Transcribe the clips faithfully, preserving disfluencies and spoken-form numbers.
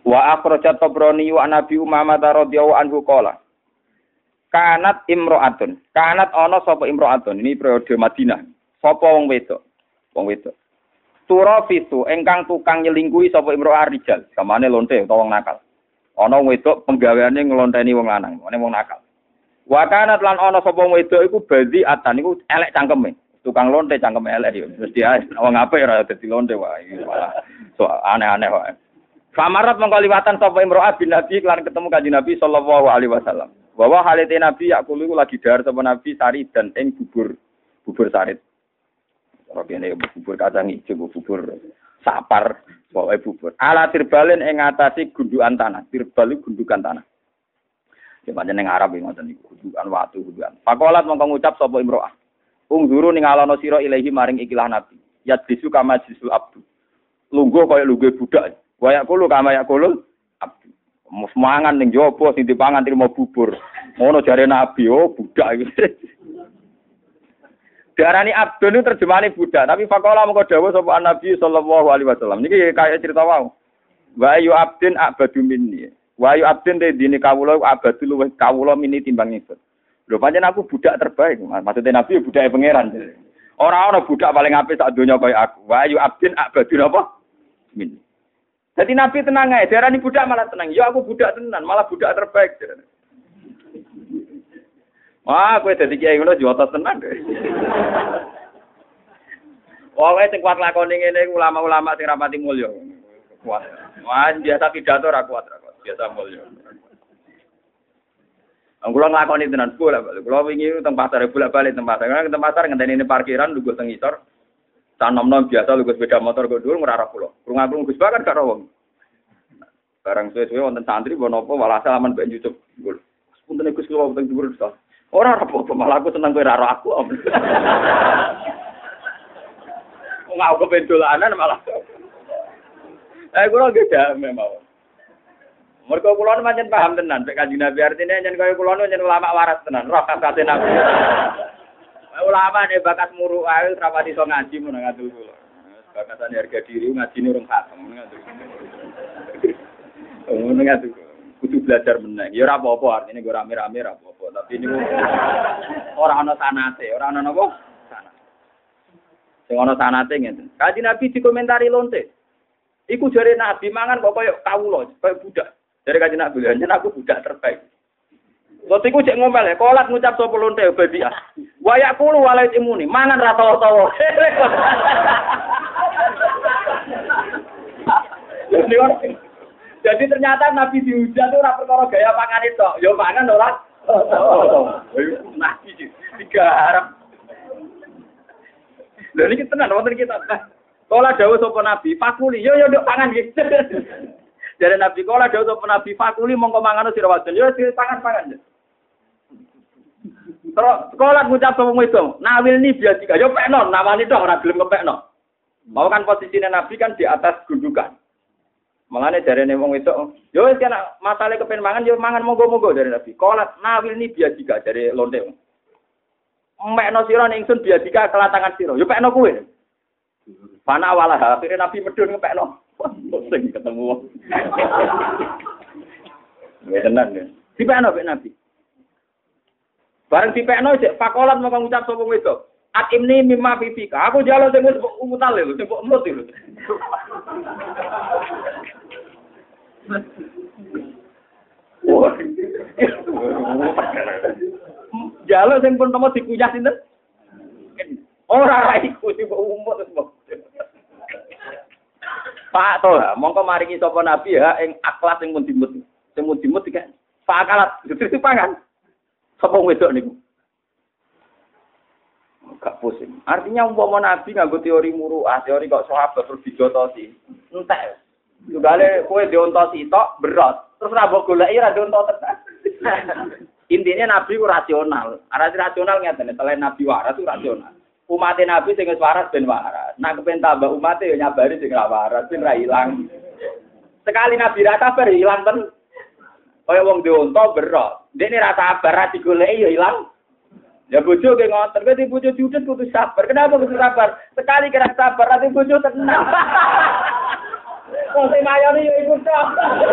Wa akhrajat Tabrani wa Nabi Umamah radhiyallahu anhu qala. Kanat imro'atun. Kanat ana sapa imro'atun. Ini periode Madinah. Sapa wong wedok? Wong wedok. Turafisu ingkang tukang nyelingkuhi sapa imro'ah rijal. Kamane lonte utawa wong nakal. Ana wong wedok penggaweane nglonteni wong lanang, ngene wong nakal. Wa kanat lan ana sapa wong wedok iku bazi atan iku elek cangkeme. Tukang lonte cangkeme elek yo. Terus dia wong apik ora dadi lonte wae. Malah so aneh-aneh wae. Famarat mengkaliwatan sapa imro'ah bin Nabi lan ketemu Kanjeng Nabi sallallahu alaihi wasallam. Bahwa halite Nabi yakulu iku lagi dahar sapa Nabi sari dan ing bubur bubur sarit. Ora kene bubur kacang ijo bubur sapar pokoke bubur. Ala tirbalen ing ngatasi gundukan tanah. Tirbal gundukan tanah. Ya pancen ning Arab iki ngoten niku gundukan watu gundukan. Pakolat mongko ngucap sapa imro'ah. Ungzuru ning alono sira ilahi maring ikilah Nabi. Yadbisu kama jisul abdu. Lungguh kaya lungguh budak. Wayak kulo kama yak kulo abdu. Mangan ning jowo sing dipangan trimo bubur. Ngono jare Nabi, oh budak iki. Diarani abdun itu terjemahane budak, tapi faqala mengko dawuh sapa Nabi sallallahu alaihi wasallam. Niki kaya cerita wae. Wa ayu abdin abadu minni. Wa ayu abdin de dine kawula abadu luwih kawula mini timbang ingsun. Lho pancen aku budak terbaik. Maksudnya Nabi budake pangeran. Ora ana budak paling apik sak donya kaya aku. Wa ayu abdin abadu napa? Minni. Jadi Nabi tenang aja, darani budak malah tenang. Ya aku budak tenan, malah budak terbaik. Wah, kowe dadi kiai ngono jotos tenan. Wong sing kuat lakone ngene iku ulama-ulama sing rapati mulya. Kuat. Wah, biasa pidato ra kuat, ra kuat. Biasa mulya. Anggulang lakoni tenan kula, kula wingi teng pasar bolak-balik teng pasar. Karena teng pasar ngenteni parkiran lungguh teng ngisor. Sanom-nom biasa lungguh sepeda motor kok dhuwur ngrarah kula. Krungu-krungu Gus Bakar karo wong. Barang suwe-suwe wonten santri apa napa walhasil aman mbek YouTube. Punten Gus kula wonten dhuwur to. Ora apa-apa malah aku seneng kowe karo aku. Wong aku pendolanan malah. Eh kula nggih jame mawon. Mergo kula pancen paham tenan nek Kanjeng Nabi artine yen kaya kula yen ulama waras tenan, roh kasate Nabi. Ulama nek bakat muru ae rapati iso ngaji mun ngatur kula. Bakatane harga diri ngajine urung khatam ngatur. Oh ngatur. Kudu belajar meneh. Ya ora apa-apa artine go rame-rame ora apa-apa, tapi niku ora ana sanate, ora ana napa? Sanate. Sing ana sanate ngeten. Kanjeng Nabi dikomentari lonte. Iku jare Nabi mangan kok koyo kawula, koyo budak. Jare Kanjeng Nabi, "Yen aku budak terbaik." Lot iku cek ngomel ya, kolat ngucap sapa lonte babi ah. Wayak kulo walait imuni, mangan ra tawa-tawa. Jadi ternyata Nabi dihujat itu ora perkara gaya pangan itu, ya pangan ora. Nabi tiga harap. Lha niki tenan wonten kita. Kala dawuh sapa Nabi, fakuli, yo yo nduk pangan iki. Jare Nabi kala dawuh sapa Nabi, fakuli mongko mangan sira wadon, yo pangan-pangan. Terus sekolah ngucap sama itu, nawil ni biasa juga, yo pekno, nawani dong, ora gelem kepekno. Mau kan posisinya Nabi kan di atas gundukan. Mangane jarene wong itu, yo wis kan masalah kepen mangan, yo mangan monggo-monggo dari Nabi. Kolat nawil ni biasa juga dari lonte. Mekno sira ning ingsun biasa juga kelatangan sira, yo pekno kowe. Pana walah akhirnya Nabi medun ngepekno. Sing ketemu wong. Wis tenan ya. Dipekno pek Nabi. Bareng dipekno cek pakolat mau ngucap sapa wedok. Atimni mimma fifika. Aku jalo sing wis umutal lho, sing kok emut lho. Wah. Jalo sing pun temu dikuyah sinten? Ora iku sing kok umut terus. Pak to, mongko maringi sapa nabi ya ing akhlak sing mundimut. Sing mundimut iki Pak akalat dadi pangan. Sapa wedok niku? Gak pusing. Artinya umpama nabi nganggo teori muru'ah, teori kok sahabat terus dijotosi. Entek. Tugale kowe diontosi tok berat. Terus ra mbok goleki ra diontos tenan. Intinya nabi ku rasional. Arti rasional ngeten, selain nabi waras itu rasional. Umat nabi sing wis waras ben waras. Nek kepen tambah umat ya nyabari sing ra waras ben ra ilang. Sekali nabi ra sabar ilang ten. Kaya wong dionto berat. Dene ra sabar ra digoleki ya ilang. Ya bojo ge ngoten, kowe di bojo diudet kudu sabar. Kenapa kudu sabar? Sekali kira sabar ati bojo tenang. Wong sing mayone yo iku tok.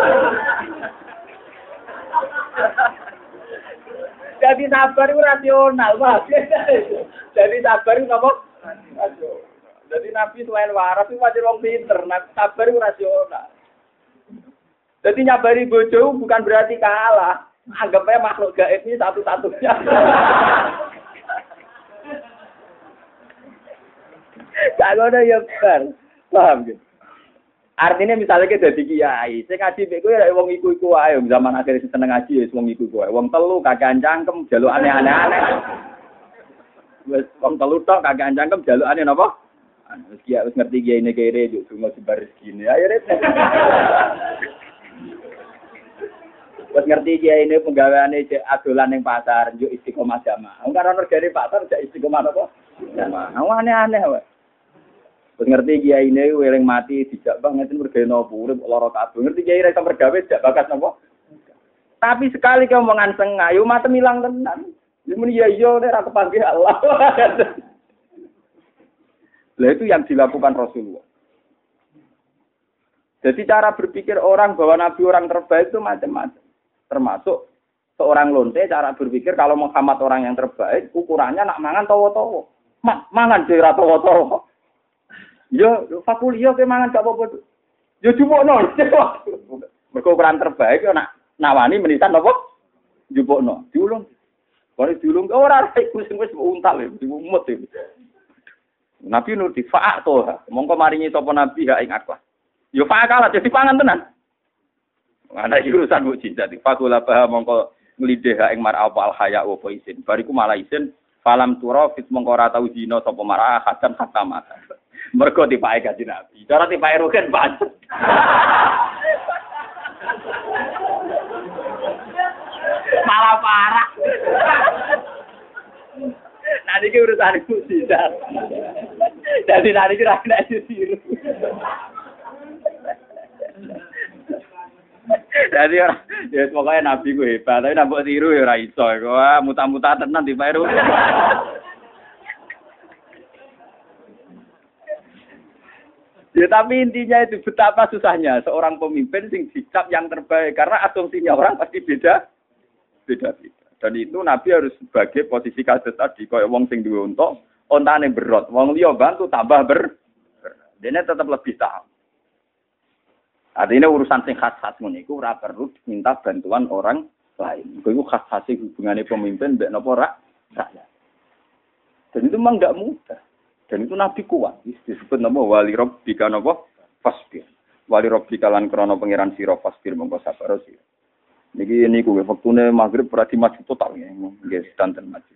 Jadi sabar itu rasional, Pak. Jadi sabar itu apa? Rasional. Jadi Nabi selain waras itu wajib orang pinter. Nabi sabar itu rasional. Jadi nyabari bojo bukan berarti kalah. Anggapnya makhluk gaib ini satu-satunya. Gak ada yang ber. Paham gitu? Artinya misalnya kita jadi kiai, saya ngaji beku ya wong iku-iku ae zaman akhir seneng ngaji ya wong iku-iku ae. Wong telu kagak cangkem jaluk aneh-aneh. Wis wong telu tok kagak cangkem jaluk aneh napa? Wis kiai wis ngerti kiai ini kere yo cuma sebar rezeki. Ayo rek. Wis ngerti kiai ini penggaweane adolan ning pasar yo istiqomah jamaah. Wong karo regane pasar jak istiqomah napa? Jamaah. Aneh-aneh wae. Wis ngerti kiai ini weling mati dijak banget mergawe napa urip lara kabeh. Ngerti kiai ra iso mergawe jak bakas napa? Tapi sekali keomongan sengah yo matem ilang tenan. Ya muni ya iya nek ra kepanggih Allah. Lah itu yang dilakukan Rasulullah. Jadi cara berpikir orang bahwa Nabi orang terbaik itu macam-macam. Termasuk seorang lonte cara berpikir kalau Muhammad orang yang terbaik ukurannya nak mangan towo-towo. Ma- mangan dhewe ra towo-towo. Yo, fakul yo ke mangan gak apa-apa. Yo jupukno. Mergo ukuran terbaik yo nak nawani menitan apa? Jupukno. Diulung. Bare diulung ora iku sing wis untal e, diumut e. Nabi nur difaak to. Mongko maringi sapa nabi ha ing akhlak. Yo faak kalah dadi pangan tenan. Ana urusan mukjizat. Fakul apa mongko nglideh ha ing mar apa al haya wa isin. Bariku malah isin falam tura fit mongko ora tau dina sapa marah hadan hakama. Mergo dipake kanjeng Nabi. Cara dipake rugen pancet. Malah parah. Nanti ki urusan iku sidar. Dadi nanti ki ra kena ditiru. Dadi ora ya pokoke Nabi ku hebat, tapi nek mbok tiru ya ora iso. Wah, muta-muta tenan dipake rugen. Ya tapi intinya itu betapa susahnya seorang pemimpin sing dicap yang terbaik karena asumsinya orang pasti beda beda-beda. Dan itu Nabi harus sebagai posisi kasus tadi kaya wong sing duwe unta, ontane berot, wong liya bantu tambah ber. Dene tetap lebih tahu. Artinya urusan sing khas-khas ngono iku ora perlu minta bantuan orang lain. Iku khas-khase hubungane pemimpin mbek napa rak rakyat. Dan itu memang enggak mudah. Dan itu Nabi kuat, disebut nama wali rabbika napa fasbir. Wali rabbika lan krana pangeran sira fasbir mongko sabar sira. Niki niku wektune magrib ora dimaju total nggih sedanten maju.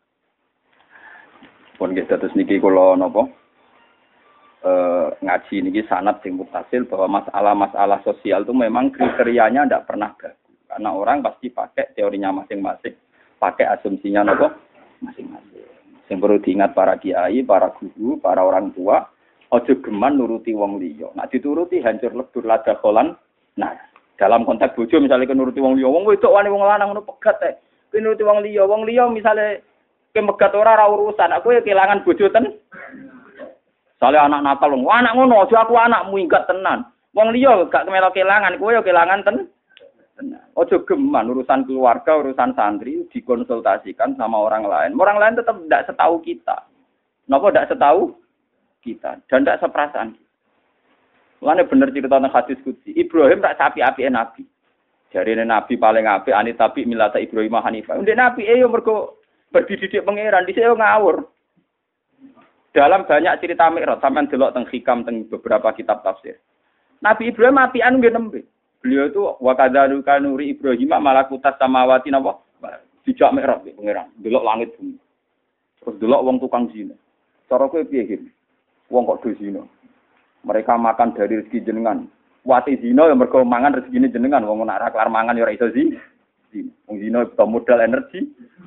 Pun nggih terus niki kula napa eh ngaji niki sanad sing mutasil bahwa masalah-masalah sosial itu memang kriterianya ndak pernah bagus. Karena orang pasti pakai teorinya masing-masing, pakai asumsinya napa masing-masing. Yang perlu diingat para kiai, para guru, para orang tua, ojo geman nuruti wong liya. Nak dituruti hancur lebur lada kolan. Nah, dalam konteks bojo misalnya ke nuruti wong liya, wong wedok wani wong lanang ngono pegat teh. Ke nuruti wong liya, wong liya misalnya ke megat ora ora urusan, aku ya kehilangan bojo ten. Soale anak nakal wong, anak ngono aja aku anakmu ingkat tenan. Wong liya gak kemelok kehilangan, kowe ya kehilangan ten. Ojo geman urusan keluarga, urusan santri dikonsultasikan sama orang lain. Orang lain tetap tidak setahu kita. Napa tidak setahu kita dan tidak seperasaan kita. Mulane bener cerita tentang hadis qudsi. Ibrahim tak sapi-apike nabi. Jarine nabi paling apik ane tapi milata Ibrahim Hanifah. Ndek nabi e yo mergo berdididik pangeran dhisik yo ngawur. Dalam banyak cerita Mi'raj sampean delok teng hikam teng beberapa kitab tafsir. Nabi Ibrahim apian nggih nembe. Beliau itu wa kadzaluka nuri Ibrahim malakutas samawati napa? Dijak mikrab pangeran, delok langit bumi. Terus delok wong tukang zina. Cara kowe piye iki? Wong kok do zina. Mereka makan dari rezeki jenengan. Wati zina ya mergo mangan rezekine jenengan, wong nek ora kelar mangan ya ora iso zina. Wong zina butuh modal energi.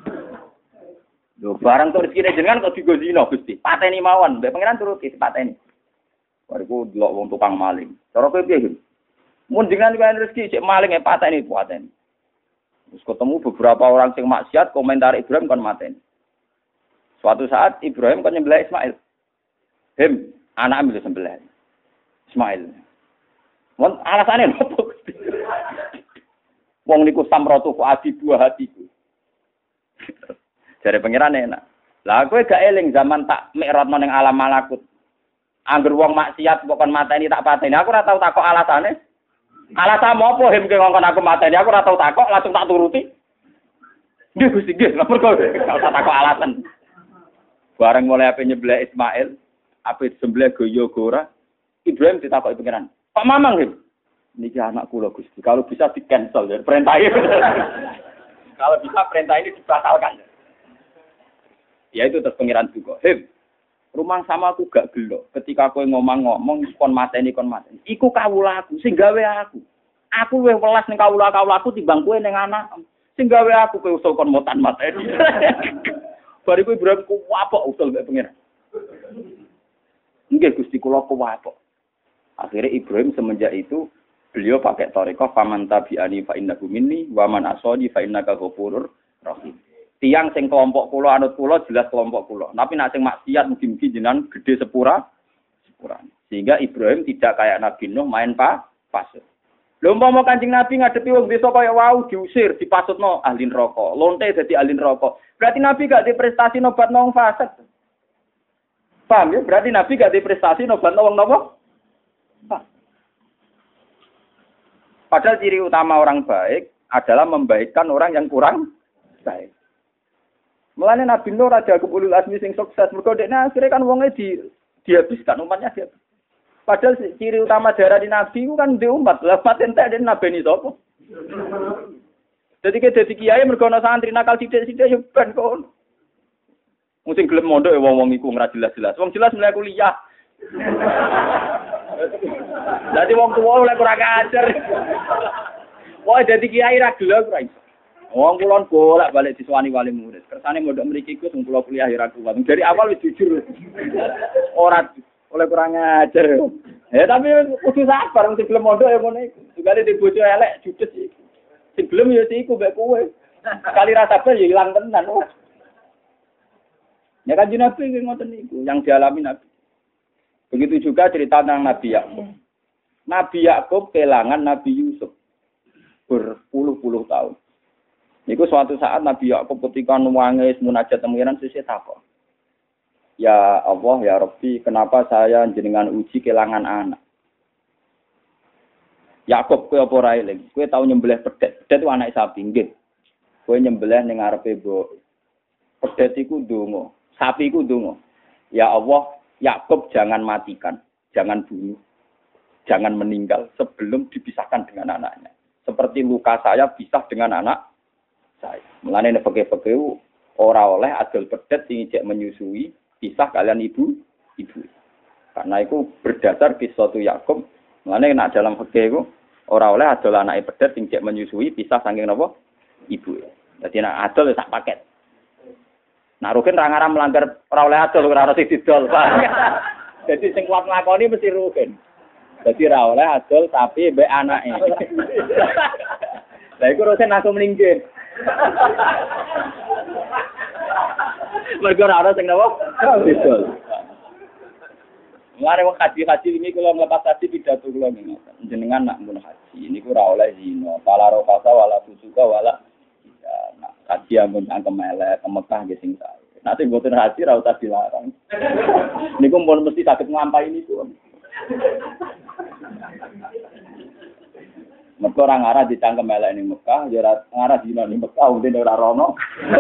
Lho barang to rezekine jenengan kok digo zina Gusti. Pateni mawon, mbek pangeran turuti pateni. Bariku delok wong tukang maling. Cara kowe piye iki? Mun dengan kan rezeki cek maling e pateni pateni. Terus ketemu beberapa orang sing maksiat komentar Ibrahim kon mateni. Suatu saat Ibrahim kon nyembelih Ismail. Hem, anak ambil sembelih. Ismail. Wong alasane nopo? Wong niku samratu fuadi buah hatiku. Jare pangeran enak. Lah kowe gak eling zaman tak mikrotno ning alam malakut. Angger wong maksiat kok kon mateni tak pateni. Aku ora tau takok alasane. Alasan apa hem ke ngongkon aku mateni? Aku ora tau takok, langsung tak turuti. Nggih Gusti, nggih. Lha mergo tak takok alasan. Bareng mulai ape nyebleh Ismail, ape sembelih goyo ora, Ibrahim ditakoki pangeran. Pak Mamang hem. Niki anak kula Gusti. Kalau bisa di cancel ya perintah ini. Kalau bisa perintah ini dibatalkan. Ya itu terus pangeran juga. Hem. Rumang sama aku gak gelo. Ketika kowe ngomong-ngomong kon mateni kon mateni. Iku kawula aku sing gawe aku. Aku luwih welas ning kawula-kawula aku timbang kowe ning anak. Sing gawe aku kowe usul kon motan mateni. Bariku Ibrahim ku apok usul mek pangeran. Nggih Gusti kula kuwapok. Akhirnya Ibrahim semenjak itu beliau pakai thariqah faman tabi'ani fa innahu minni wa man asani fa innaka ghafurur rahim. Tiang sing kelompok kula anut kula jelas kelompok kula. Tapi nek sing maksiat mugi-mugi jenengan gede sepura sepura. Sehingga Ibrahim tidak kayak Nabi Nuh main pa pasut. Lha umpama Kanjeng Nabi ngadepi wong desa kaya wau diusir, dipasutno ahli neraka. Lonte dadi ahli neraka. Berarti Nabi gak diprestasi nobat wong fasik. Paham ya? Berarti Nabi gak diprestasi nobat wong napa? Padahal ciri utama orang baik adalah membaikkan orang yang kurang baik. Mulane Nabi Nuh raja ulul azmi sing sukses, mergo dekne akhire kan wonge di dihabiskan, umatnya dia. Padahal ciri utama darah di Nabi itu kan di umat. Lah paten tak den nabeni sapa? Dadi ke dadi kiai mergo ana santri nakal sithik-sithik ya ben kon. Mung sing gelem mondok ya wong-wong iku ora jelas-jelas. Wong jelas mulai kuliah. Dadi wong tuwa oleh kurang ajar. Wah dadi kiai ra gelem ora iso. Wong kulon bolak-balik diswani wali murid. Kersane mondok mriki iku sing kula kuliah ora kuat. Dari awal wis jujur. Ora oleh kurang ajar. Ya tapi kudu sabar sing gelem mondok ya ngono iku. Sugale di bojo elek judes iki. Sing gelem ya iku mbek kowe. Kali ra sabar ya ilang tenan. Ya kan Nabi ngoten niku yang dialami Nabi. Begitu juga cerita tentang Nabi Yakub. Nabi Yakub kelangan Nabi Yusuf berpuluh-puluh tahun. Niku suatu saat Nabi Yakub ketika nuwange munajat temuiran sesuk takok. Ya Allah ya Rabbi, kenapa saya jenengan uji kelangan anak? Yakub kowe apa ora eling? Kowe tau nyembelih pedet. Pedet itu anak sapi nggih. Kowe nyembelih ning ngarepe mbok. Pedet iku ndonga, sapi iku ndonga. Ya Allah, Yakub jangan matikan, jangan bunuh, jangan meninggal sebelum dipisahkan dengan anaknya. Seperti luka saya pisah dengan anak saya. Mulane nek peke-peke ora oleh adol pedet sing ijek menyusui pisah kalian ibu ibu. Karena itu berdasar kisah Yakub. Mulane nek dalam fikih iku ora oleh adol anake pedet sing ijek menyusui pisah saking napa ibu. Dadi nek adol sak paket. Nah Rukin ra ngaram melanggar ora oleh adol ora ono sing didol. Jadi sing kuat nglakoni mesti Rukin. Dadi ra oleh adol tapi mbek anake. Lah iku Rukin langsung meninggal. Mergo ora sing napa? Didol. Mare wong haji-haji ini kula mlepas haji pidato kula ngene. Jenengan nak mun haji niku ora oleh zina, pala rokasa wala fusuka wala nah, haji ampun angkem elek, ke Mekah nggih sing sae. Nanti mboten haji ra usah dilarang. Niku pun mesti saged nglampahi niku. Mergo ora ngarah dicangkem elek ning Mekah, ya ora ngarah zina ning Mekah, untine ora rono.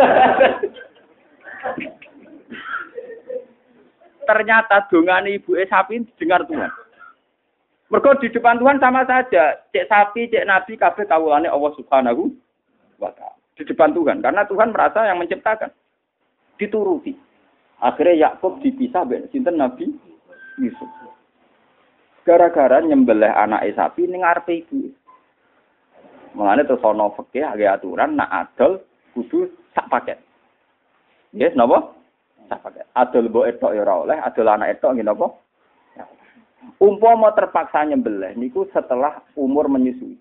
Ternyata dongane ibuke sapi didengar Tuhan. Mergo di depan Tuhan sama saja, cek sapi, cek nabi kabeh kawulane Allah Subhanahu wa taala. Di depan Tuhan karena Tuhan merasa yang menciptakan. Dituruti. Akhirnya Yakub dipisah mbek sinten Nabi Yusuf. Gara-gara nyembelih anake sapi ning ngarepe ibu. Mulane terus ana fikih agek aturan nak adol kudu sak paket. Nggih, napa? Sak paket. Adol mbok etok ya ora oleh, adol anak etok nggih napa? Umpama terpaksa nyembelih niku setelah umur menyusui.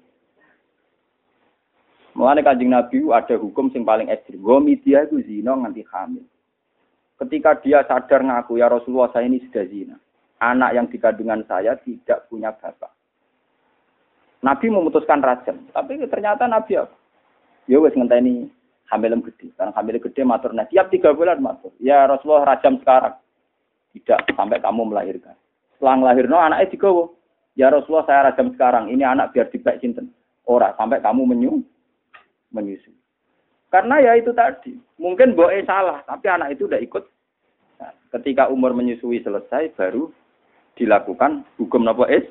Mulane Kanjeng Nabi ada hukum sing paling ekstrem. Gomidia itu zina nganti hamil. Ketika dia sadar ngaku ya Rasulullah saya ini sudah zina. Anak yang di kandungan saya tidak punya bapak. Nabi memutuskan rajam, tapi ternyata Nabi apa? Ya wes ngenteni hamilem gede. Karena hamilem gede matur nah, tiap tiga bulan matur. Ya Rasulullah rajam sekarang. Tidak sampai kamu melahirkan. Setelah melahirno anaknya digawa. Ya Rasulullah saya rajam sekarang. Ini anak biar dibek sinten. Ora sampai kamu menyu menyusui. Karena ya itu tadi. Mungkin boe salah, tapi anak itu udah ikut. Nah, ketika umur menyusui selesai baru dilakukan hukum napa es.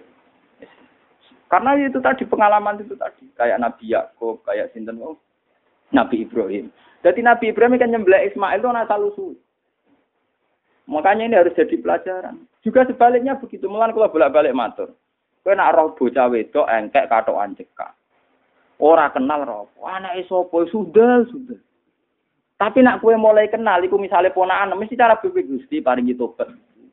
Karena itu tadi pengalaman itu tadi kayak Nabi Yakub, kayak sinten oh, Nabi Ibrahim. Jadi Nabi Ibrahim kan nyembelih Ismail itu asal usul. Makanya ini harus jadi pelajaran. Juga sebaliknya begitu. Mulan kalau bolak-balik matur. Kowe nak roh bocah wedok engkek katokan cekak. Ora kenal roh. Anake sapa sudah sudah. Tapi nak kowe mulai kenal iku misale ponakan mesti cara bebek Gusti paringi tobat.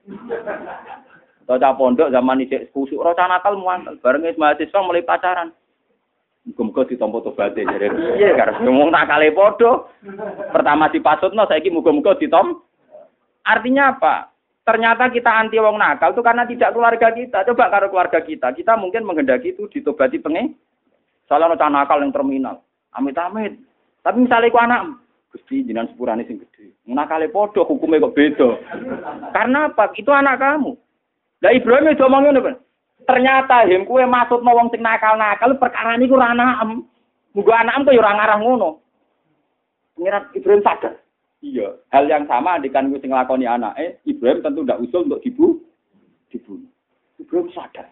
Tocah pondok zaman isik kusuk ora nakal muantel bareng wis mahasiswa mulai pacaran. Muga-muga ditampa tobaté jare piye karep ngomong nakale padha. Pertama dipasutno saiki muga-muga ditom. Artinya apa? Ternyata kita anti wong nakal itu karena tidak keluarga kita. Coba karo keluarga kita, kita mungkin menghendaki itu ditobati pengen. Salah ono nakal yang terminal. Amit-amit. Tapi misalnya iku anak Gusti jenengan sepurane sing gedhe. Nakale padha hukume kok beda. Karena apa? Itu anak kamu. Lah Ibrahim itu omong ngene, ternyata hem kuwe maksudno wong sing nakal-nakal perkara niku ora anakem. Muga anakem kok ya ora ngarah ngono. Pengiran Ibrahim sadar. Iya, hal yang sama andikan kuwi sing nglakoni anake, Ibrahim tentu ndak usul untuk dibu dibunuh. Ibrahim sadar.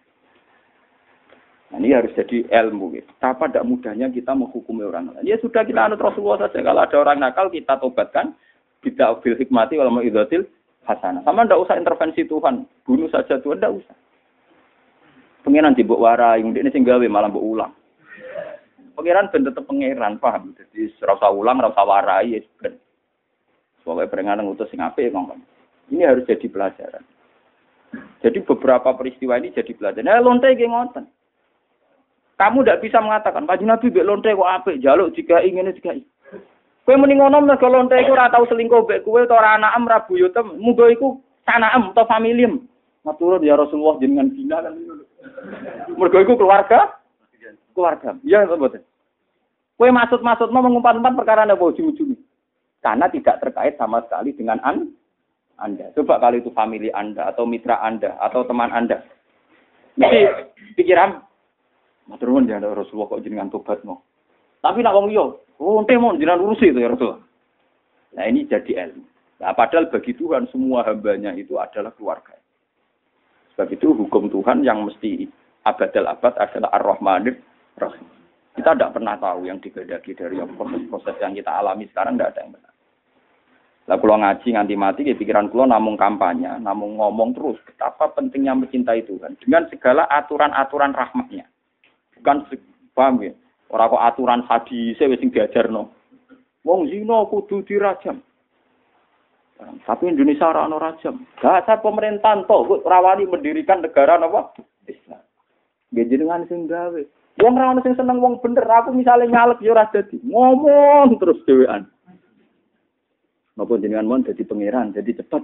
Nah, ini harus jadi ilmu gitu. Betapa tidak mudahnya kita menghukumi orang lain. Ya sudah kita anut Rasulullah saja. Kalau ada orang nakal kita tobatkan. Bid'ah bil hikmati wal mau'izatil hasanah. Sama tidak usah intervensi Tuhan. Bunuh saja Tuhan, tidak usah. Pengiran dibuk warai, ini sing gawe malah mbok ulang. Pengiran ben tetep pengiran, paham? Jadi ora usah ulang, ora usah warai ya ben. Soale perenganan ngutus sing apik ngomong. Ini harus jadi pelajaran. Jadi beberapa peristiwa ini jadi pelajaran. Nah, lonte iki ngoten. Kamu tidak bisa mengatakan, Kanjeng Nabi mbek lonte kok apik, jaluk jika ingin jika. Kowe muni ngono nek lonte iku ora tau selingkuh mbek kowe utawa ora anakem ra buyutem, muga iku sanaem utawa familiem. Matur ya Rasulullah jenengan bina kan ngono. Mergo iku keluarga keluarga. Iya apa mboten? Kowe maksud-maksudmu mengumpat-umpat perkara napa ujung-ujung. Karena tidak terkait sama sekali dengan an, Anda. Coba kalau itu famili Anda, atau mitra Anda, atau teman Anda. Mesti pikiran, matur nuwun ya Rasulullah kok jenengan tobat mau. Tapi nak wong liya, oh ente mau jenengan urusi itu ya Rasulullah. Nah ini jadi ilmu. Nah padahal bagi Tuhan semua hambanya itu adalah keluarga. Sebab itu hukum Tuhan yang mesti abadal abad adalah Ar-Rahmanir Rahim. Kita tidak pernah tahu yang digedaki dari proses-proses yang kita alami sekarang, tidak ada yang benar. Lah kula ngaji nganti mati ke pikiran kula namung kampanye, namung ngomong terus betapa pentingnya mencintai Tuhan dengan segala aturan-aturan rahmatnya. Bukan paham ya. Ora kok aturan hadise wis sing diajarno. Wong zina kudu dirajam. Tapi Indonesia ora ono rajam. Dasar pemerintahan to kok rawani mendirikan negara napa? Islam. Nggih jenengan sing gawe. Wong ora ono sing seneng wong bener, aku misale nyalek ya ora dadi. Ngomong terus dhewean. Napa jenengan mon dadi pangeran, dadi cepet.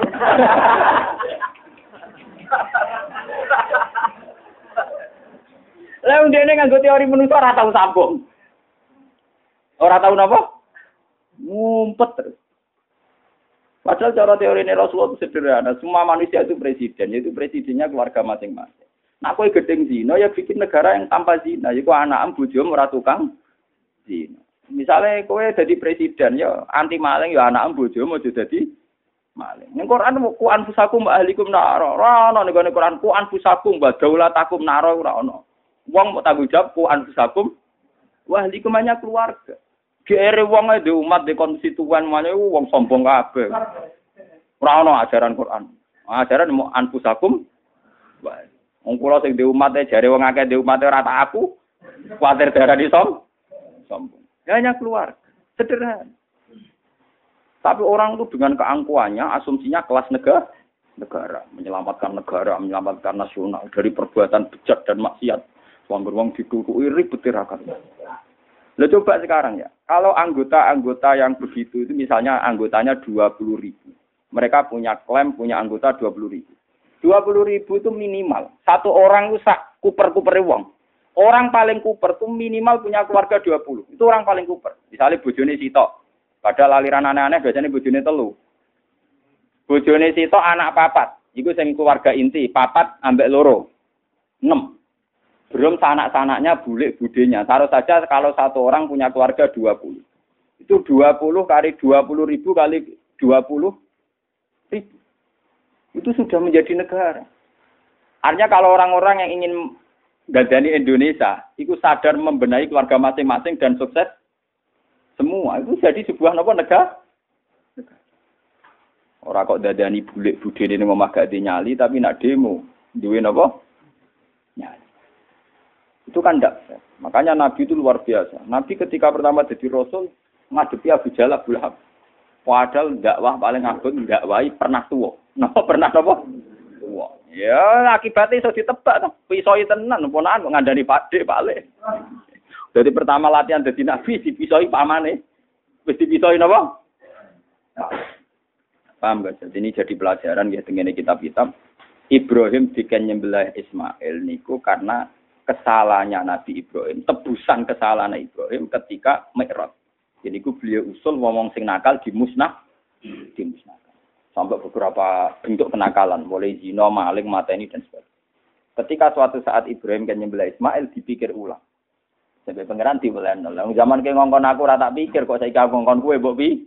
Lah ndene nganggo teori menungso ora tau sambung. Ora tau napa? Ngumpet terus. Padahal cara teori ini Rasulullah itu sederhana. Semua manusia itu presiden, yaitu presidennya keluarga masing-masing. Nah, kowe gedeng zina ya bikin negara yang tanpa zina. Iku anak bojomu ora tukang zina. Misale kowe dadi presiden ya anti maling ya anak bojomu aja dadi maling. Ning Quran ku anfusakum wa ahlikum nar. Ora ono ning Quran ku anfusakum wa daulatakum nar ora ono. Wong mau tanggung jawab ku anfusakum wa ahlikum hanya keluarga. Gere wong e umat de konstituen mane wong sombong kabeh. Ora ono ajaran Quran. Ajaran mau anfusakum wa wong kula sing di umat e jare wong akeh di umat ora tak aku. Kuwatir darani som sombong. Hanya keluarga. Sederhana. Tapi orang itu dengan keangkuhannya, asumsinya kelas negara, negara, menyelamatkan negara, menyelamatkan nasional dari perbuatan bejat dan maksiat. Wong wong ditutuki ribet tirakan. Lah coba sekarang ya, kalau anggota-anggota yang begitu itu misalnya anggotanya dua puluh ribu. Mereka punya klaim punya anggota dua puluh ribu. dua puluh ribu itu minimal. Satu orang itu sak kuper-kupere wong. Orang paling kuper tuh minimal punya keluarga dua puluh. Itu orang paling kuper. Misalnya bojone sitok. Padahal aliran aneh-aneh biasanya bojone telu. Bojone sitok anak papat. Iku sing keluarga inti, papat ambek loro. enam. Belum sanak-sanaknya bulik budenya. Taruh saja kalau satu orang punya keluarga dua puluh. Itu dua puluh kali dua puluh ribu kali dua puluh ribu. Itu sudah menjadi negara. Artinya kalau orang-orang yang ingin gadani Indonesia, itu sadar membenahi keluarga masing-masing dan sukses semua. Itu jadi sebuah nopo negara. Orang kok dadani bulik budhe ini ngomah gak nyali, tapi nak demo, duwe nopo nyali. Itu kan ndak. Makanya Nabi itu luar biasa. Nabi ketika pertama jadi Rasul, ngadepi Abu Jahal Abu Lahab. Padahal dakwah paling agung dakwahi pernah tua. Napa pernah nopo? Tua. Ya akibatnya iso ditebak to. Pisoi tenan ponakan ngandani Pakde balik. Jadi pertama latihan dadi nabi dipisoi pamane. Wis dipisoi napa? Paham gak? Jadi ini jadi pelajaran ya dengan kitab-kitab. Ibrahim diken nyembelih Ismail niku karena kesalahannya Nabi Ibrahim, tebusan kesalahan Ibrahim ketika Mi'raj. Jadi ku beliau usul ngomong sing nakal dimusnah, dimusnahkan. Sampai beberapa bentuk kenakalan, mulai zina, maling, mateni dan sebagainya. Ketika suatu saat Ibrahim kan nyembelih Ismail dipikir ulang. Sampai pangeran diweleno. Lah zaman ke ngongkon aku ora tak pikir kok saiki aku ngongkon kowe mbok pi.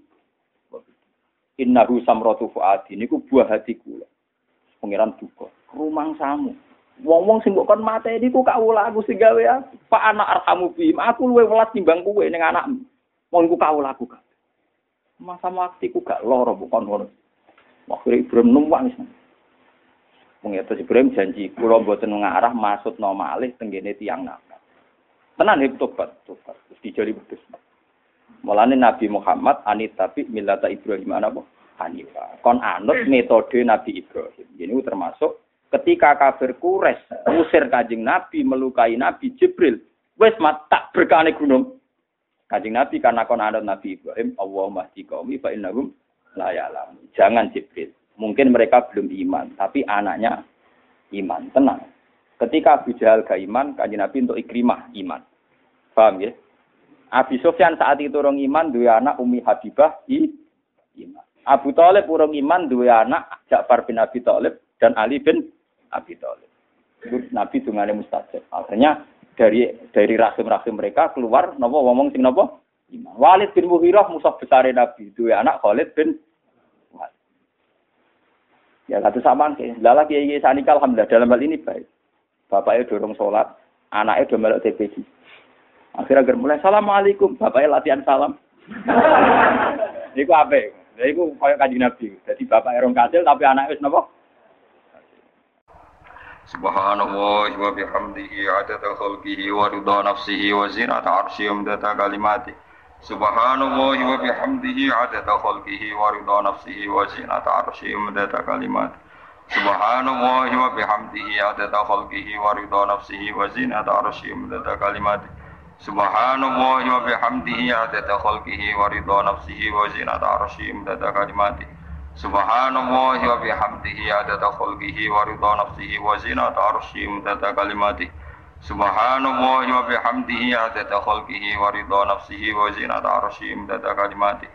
Innahu samratu fuadi niku buah hati kula. Pangeran duka. Rumangsamu. Wong-wong sing mbok kon mateni ku kawula aku sing gawe aku. Pak anak arhamu bi. Aku luwe welas timbang kowe ning anakmu. Wong iku kawula aku gak. Masa waktiku gak loro bukan ngono. Akhirnya Ibrahim numpang wis. Mengeta Ibrahim janji kula mboten ngarah maksudna malih tenggene tiyang nakal. Tenan hip tobat, tobat. Terus dijali wedhus. Mulane Nabi Muhammad anit tapi millata Ibrahim apa? Hanifah. Kon anut metode Nabi Ibrahim. Ini termasuk ketika kafir Quraisy ngusir Kanjeng Nabi, melukai Nabi Jibril, wis mat tak berkane gunung. Kanjeng Nabi karena kon anut Nabi Ibrahim, Allahumma hdi qaumi fa innahum la ya'lamun. Jangan Jibril. Mungkin mereka belum iman, tapi anaknya iman. Tenang. Ketika Abu Jahal gak iman, Kanjeng Nabi untuk Ikrimah iman. Paham ya? Abi Sufyan saat itu orang iman, dua anak Umi Habibah i iman. Abu Thalib orang iman, dua anak Ja'far bin Abi Thalib dan Ali bin Abi Thalib. Itu Nabi dungane mustajab. Akhirnya dari dari rahim-rahim mereka keluar napa ngomong sing napa? Iman. Walid bin Mughirah musuh besar Nabi, dua anak Khalid bin Walid. Ya satu samaan ke. Lala kiai sanika alhamdulillah dalam hal ini baik. Bapaknya dorong sholat, anaknya do melok T P G. Akhirnya agar mulai assalamualaikum, bapaknya latihan salam. Iku apa? Iku koyo Kanjeng Nabi. Jadi bapaknya orang kasil tapi anaknya wis napa? Subhanallah wa bihamdihi adada khalqihi wa ridha nafsihi wa zinata arsyihi wa midada kalimatihi. Subhanallah wa bihamdihi adada khalqihi wa ridha nafsihi wa zinata arsyihi wa midada kalimatihi. Subhanallah wa bihamdihi adada khalqihi wa ridha nafsihi wa zinata arsyihi wa midada kalimatihi. Subhanallah wa bihamdihi adada khalqihi wa ridha nafsihi wa zinata arsyihi wa midada kalimatihi. Subhanallah wa bihamdihi adada khalqihi wa ridha nafsihi wa zinata arsyihi wa midada kalimatihi. Subhanallah wa bihamdihi adada khalqihi wa ridha nafsihi wa zinata arsyihi wa midada kalimatihi.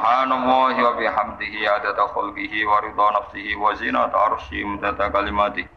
Subhanallah wa bihamdihi adada khalqihi wa ridha nafsihi wa zinata arsyihi wa midada kalimatihi.